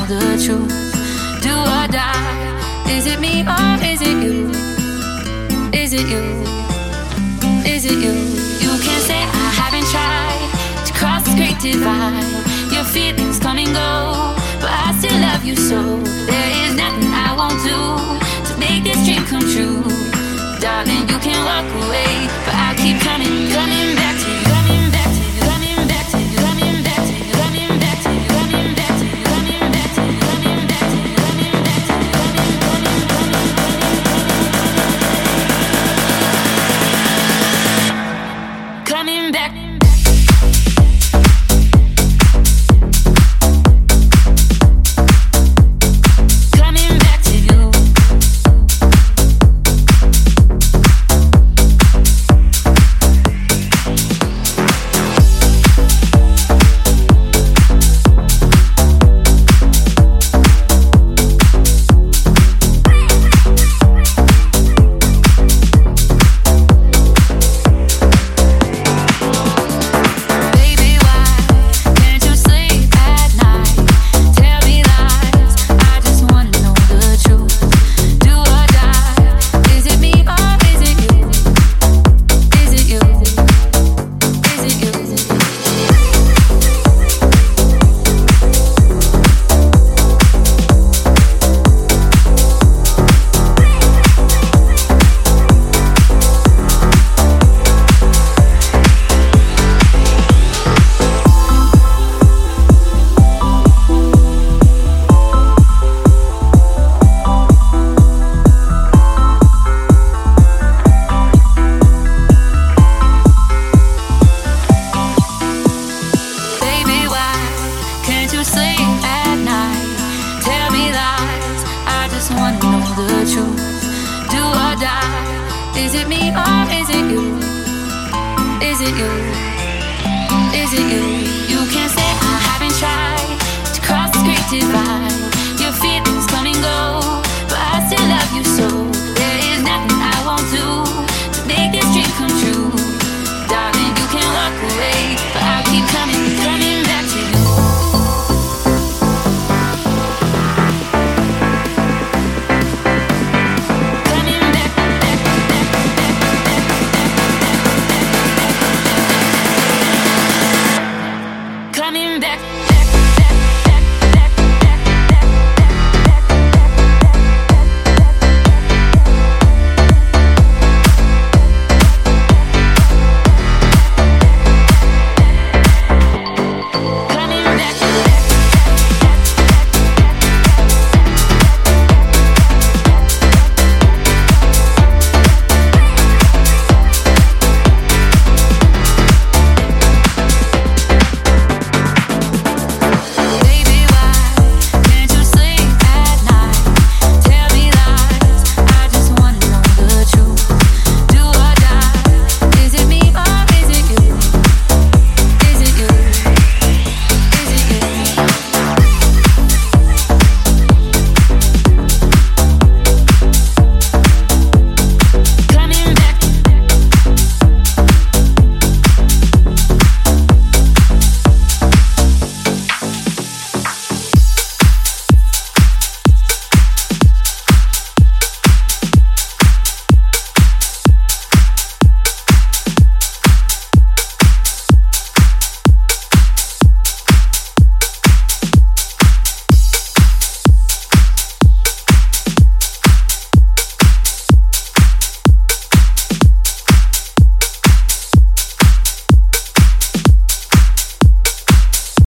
the truth. Do or die. Is it me or is it you? Is it you? Is it you? You can't say I haven't tried to cross this great divide. Your feelings come and go, but I still love you so. There is nothing I won't do to make this dream come true. Darling, you can walk away, but I keep coming